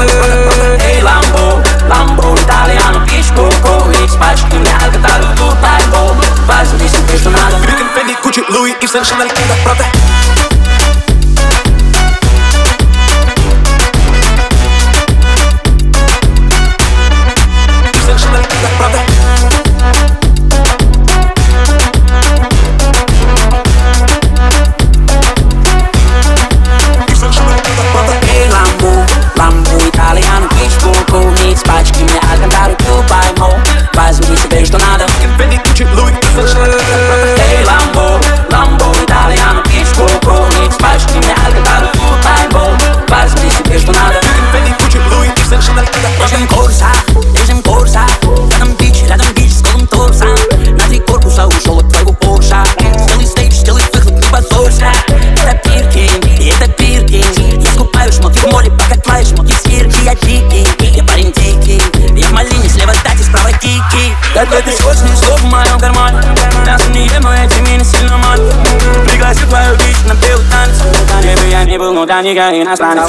Ehi Lambo, Lambo italiano, pisco, X пачки мне Alcantara, Dubai, Bob, возьми себе что надо. Birkin, Fendi, Gucci, Louis, Yves Saint Chanel, правда. Когда ты сложный слов в моем кармане, мясо не ем, но эти мины сильно мать. Пригласил твою бич на белый танец. Где бы я ни был, но для них я иностранец.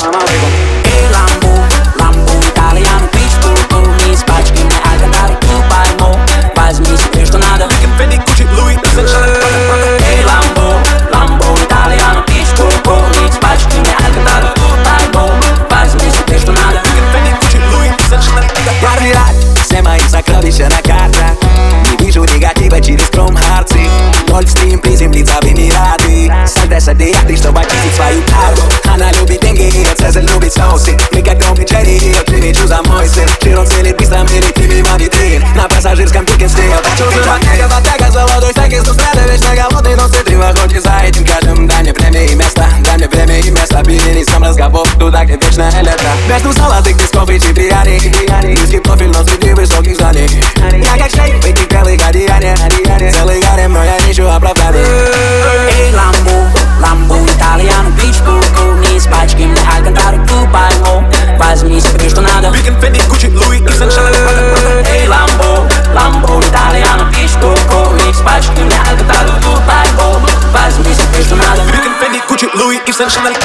Эй, Ламбо, Ламбо итальяно, пичку, из пачки мне Alcantara, Dubai, Mo, возьми себе что надо. Birkin, Fendi, Gucci, Louis, Yves Saint Chanel, Эй, Ламбо, Ламбо итальяно, пичку, из пачки мне Alcantara, Dubai, Mo, возьми себе что надо. Birkin, Fendi, Gucci, Louis, Yves Saint Chanel. Каждый раз все мои сокровища на картах. Не вижу негатива через Chrome-Hearts. Ноль в стрим, приземлиться в Эмираты. Сальто садиаты, чтобы очистить свою карму. Она любит деньги, Цезарь любит соусы. Мы как Том и Джерри, Джимми Чу за мой сын. Широн целит быстро, мерит мимо витрин. На пассажирском Birkin стоял. Чужого нега, потяга, золотой стаки. Сустрада, вечно голодный, но ты охоте за этим каждым. Дай мне время и место, дай мне время и место. Перенес сам разговор туда, где вечное лето. Между золотых песков и чипиани. Низкий профиль, но среди высоких зданий. Я как шейх в этих белых одеяниях. Целый гарем, но я ищу оправданий. Эй, Ламбо, Ламбо итальяно, пичку, из пачки мне Alcantara, Dubai, Mo, возьми себе что надо. Birkin, Fendi, Gucci, Louis, Yves Saint Chanel, Эй, Ламбо, Ламбо итальяно, пичку, из пачки мне Alcantara, Dubai, Mo, возьми себе что надо. Birkin, Fendi, Gucci, Louis, Yves Saint Chanel.